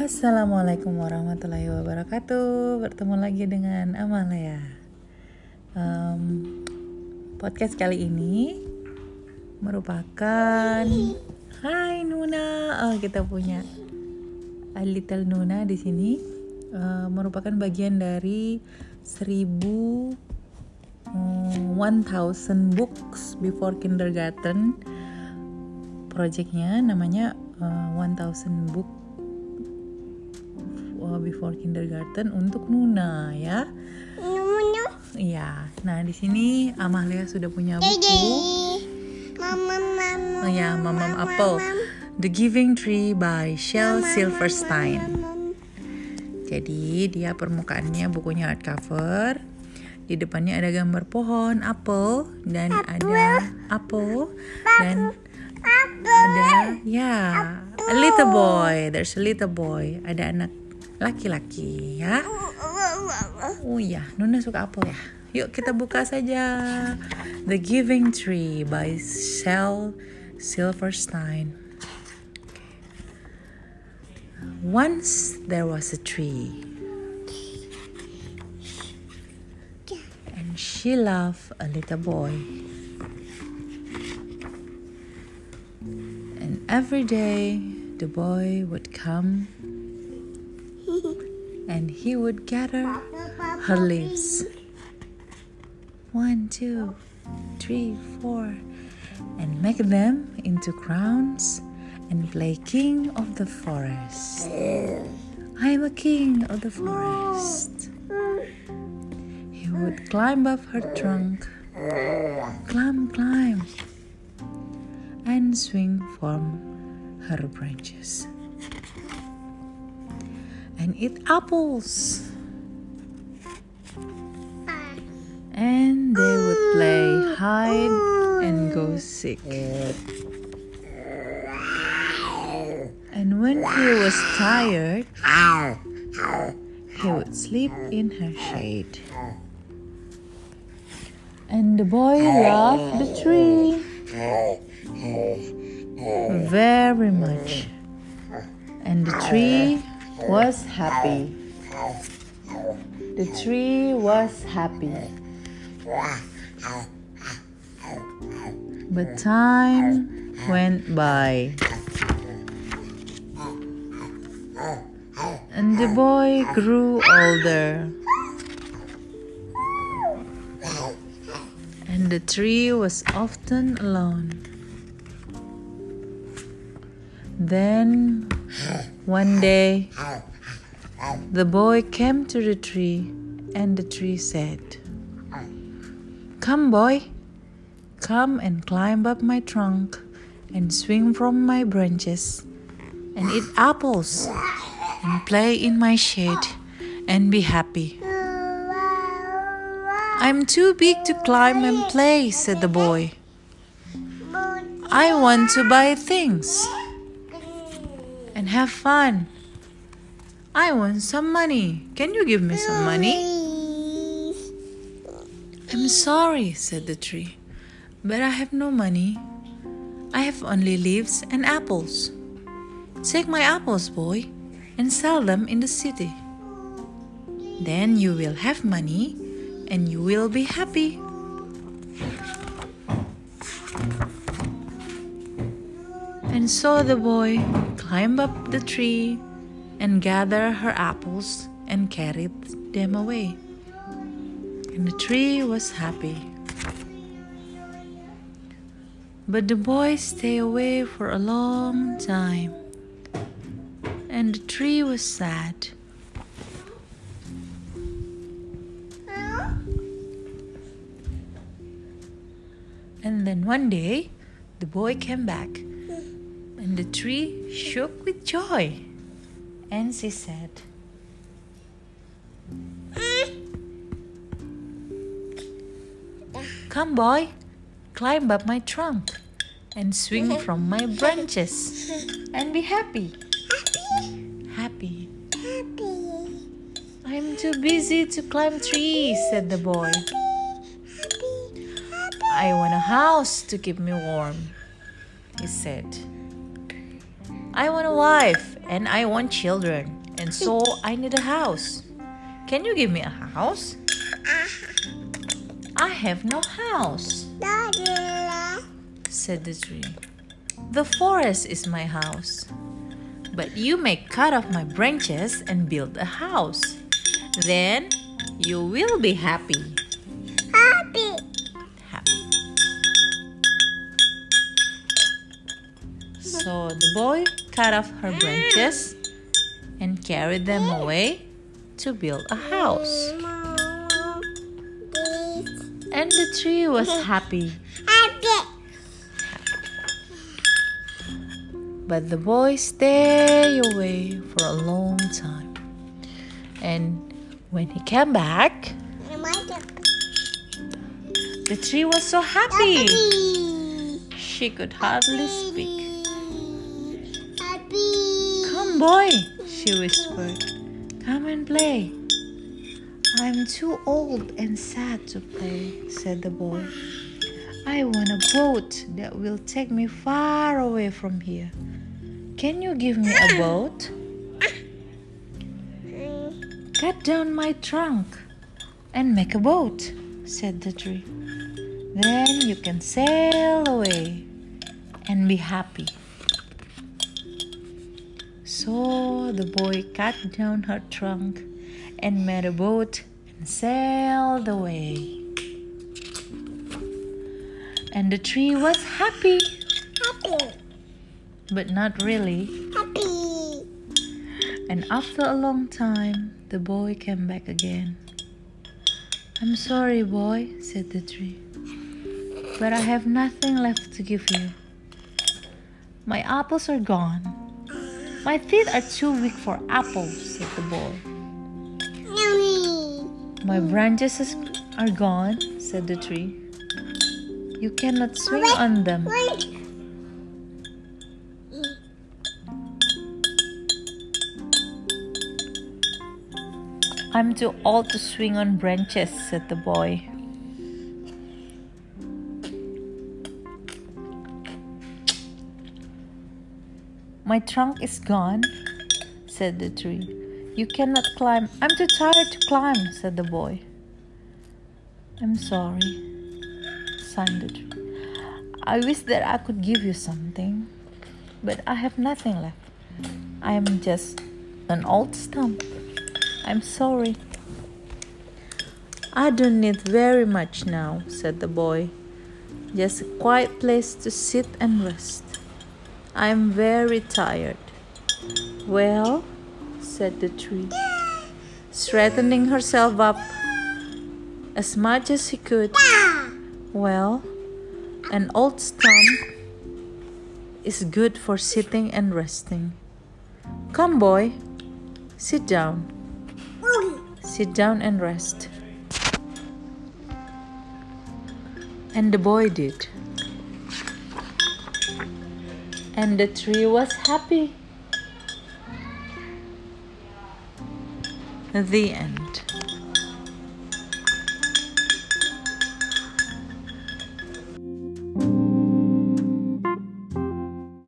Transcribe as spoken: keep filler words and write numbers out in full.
Assalamualaikum warahmatullahi wabarakatuh. Bertemu lagi dengan Amalia. um, Podcast kali ini merupakan Hai Nuna. Oh, kita punya a little Nuna di sini. uh, Merupakan bagian dari seribu um, one thousand books before kindergarten. Projectnya namanya uh, one thousand book before kindergarten untuk Nuna ya. Nuna. Iya. Nah, di sini Amalia sudah punya buku. Mama, mama. Oh ya, Mamam Apple. The Giving Tree by Shel Silverstein. Jadi, dia permukaannya bukunya hardcover. Di depannya ada gambar pohon apel dan ada apel dan ada ya, a little boy. There's a little boy. Ada anak laki-laki ya. Oh ya, Nuna suka apel ya. Yuk kita buka saja. The Giving Tree by Shel Silverstein. Once there was a tree, and she loved a little boy. And every day the boy would come and he would gather her leaves. One, two, three, four, and make them into crowns and play king of the forest. I'm a king of the forest. He would climb up her trunk, climb, climb, and swing from her branches. And eat apples. And they would play hide and go seek. And when he was tired, he would sleep in her shade. And the boy loved the tree very much. And the tree was happy. The tree was happy. But time went by. And the boy grew older. And the tree was often alone. Then one day, the boy came to the tree, and the tree said, "Come, boy, come and climb up my trunk and swing from my branches and eat apples and play in my shade and be happy." "I'm too big to climb and play," said the boy. "I want to buy things and have fun. I want some money. Can you give me some money?" "I'm sorry," said the tree, "but I have no money. I have only leaves and apples. Take my apples, boy, and sell them in the city. Then you will have money and you will be happy." And so the boy climbed up the tree and gathered her apples and carried them away. And the tree was happy. But the boy stayed away for a long time, and the tree was sad. And then one day, the boy came back, and the tree shook with joy. And she said, "Come, boy, climb up my trunk and swing from my branches and be happy." Happy. Happy. "I'm too busy to climb trees," said the boy. "I want a house to keep me warm," he said. "I want a wife and I want children. and so I need a house. Can you give me a house? I have no house, said the tree. The forest is my house, but you may cut off my branches and build a house. Then you will be happy. Happy. Happy. So the boy cut off her branches and carried them away to build a house. And the tree was happy. Happy. But the boy stayed away for a long time. And when he came back, the tree was so happy. She could hardly speak. Come, boy, she whispered. Come and play. I'm too old and sad to play, said the boy. I want a boat that will take me far away from here. Can you give me a boat? Cut down my trunk and make a boat, said the tree. Then you can sail away and be happy. So the boy cut down her trunk and made a boat and sailed away. And the tree was happy, Happy. but not really. Happy. And after a long time, the boy came back again. I'm sorry, boy, said the tree, but I have nothing left to give you. My apples are gone. My teeth are too weak for apples, said the boy. Yummy. My branches are gone, said the tree. You cannot swing on them. Wait. I'm too old to swing on branches, said the boy. My trunk is gone, said the tree. You cannot climb. I'm too tired to climb, said the boy. I'm sorry, sighed the tree. I wish that I could give you something, but I have nothing left. I am just an old stump. I'm sorry. I don't need very much now, said the boy. Just a quiet place to sit and rest. I'm very tired. Well, said the tree, straightening herself up as much as she could. Well, an old stump is good for sitting and resting. Come, boy, sit down. Sit down and rest. And the boy did. And the tree was happy. The end.